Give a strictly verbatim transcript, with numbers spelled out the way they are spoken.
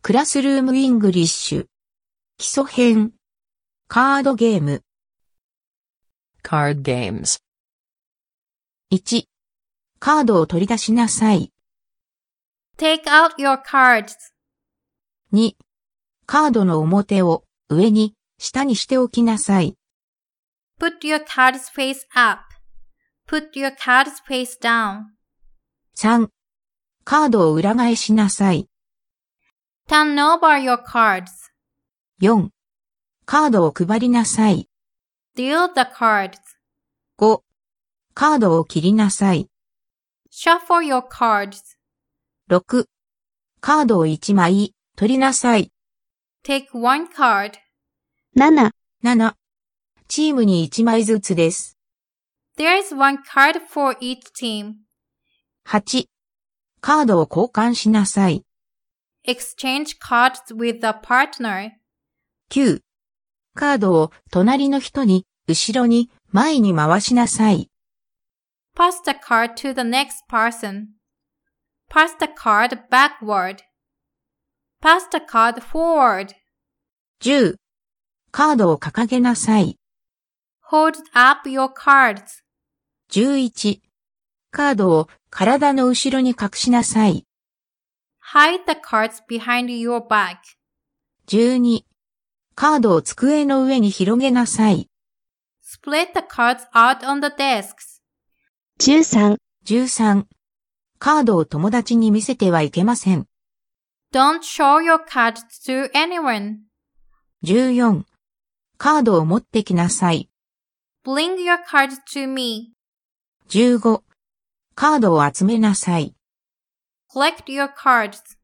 クラスルームイングリッシュ。基礎編。カードゲーム。 Card games. いち、カードを取り出しなさい。 Take out your cards. に、カードの表を上に、下にしておきなさい。 Put your cards face up. Put your cards face down. さん、カードを裏返しなさい。 Turn over your cards. よん、カードを配りなさい。 Deal the cards. ご、カードを切りなさい。 Shuffle your cards. ろく、カードをいちまい取りなさい。 Take one card. なな、 なな、チームにいちまいずつです。 There is one card for each team. はち、カードを交換しなさい。 Exchange cards with a partner. きゅう、カードを隣の人に、後ろに、前に回しなさい。 Pass the card to the next person. Pass the card backward. Pass the card forward. じゅう、カードを掲げなさい。 Hold up your cards. じゅういち、カードを体の後ろに隠しなさい。 Hide the cards behind your back. じゅうに、カードを机の上に広げなさい。 Split the cards out on the desks. じゅうさん、 じゅうさん、カードを友達に見せてはいけません。 Don't show your cards to anyone. じゅうよん、カードを持ってきなさい。 Bring your cards to me. じゅうご、カードを集めなさい。 Collect your cards.